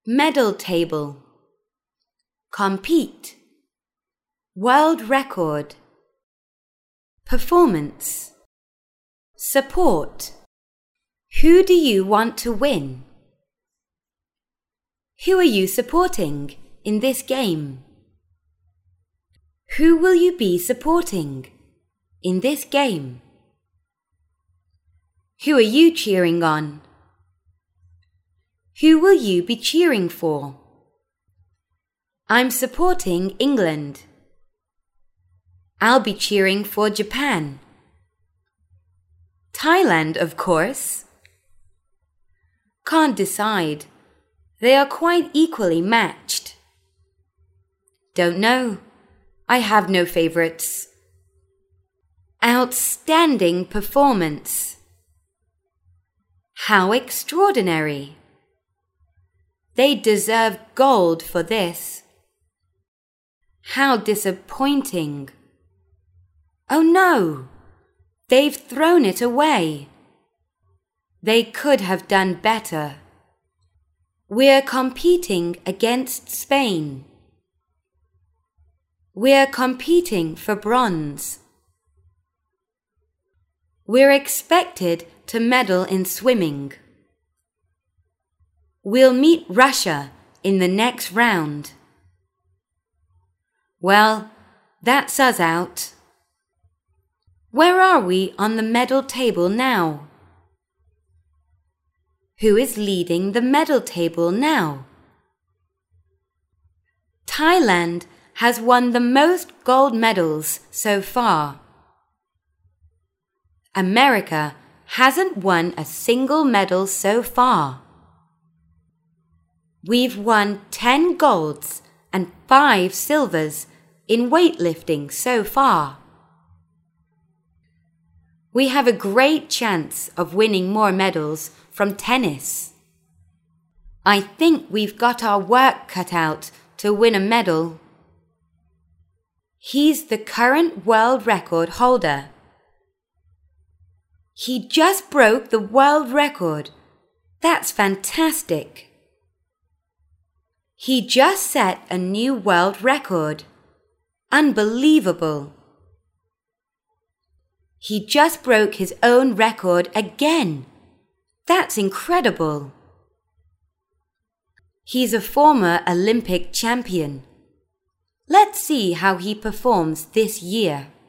medal table, compete, world record, performance, support. Who do you want to win? Who are you supporting in this game? Who will you be supporting in this game? Who are you cheering on? Who will you be cheering for? I'm supporting England. I'll be cheering for Japan. Thailand, of course. Can't decide. They are quite equally matched. Don't know. I have no favorites. Outstanding performance. How extraordinary. They deserve gold for this. How disappointing. Oh no, they've thrown it away. They could have done better. We're competing against Spain. We're competing for bronze. We're expected to medal in swimming. We'll meet Russia in the next round. Well, that's us out. Where are we on the medal table now? Who is leading the medal table now? Thailand has won the most gold medals so far. America hasn't won a single medal so far. We've won 10 golds and 5 silvers in weightlifting so far. We have a great chance of winning more medals from tennis. I think we've got our work cut out to win a medal. He's the current world record holder. He just broke the world record. That's fantastic. He just set a new world record. Unbelievable. He just broke his own record again. That's incredible. He's a former Olympic champion. Let's see how he performs this year.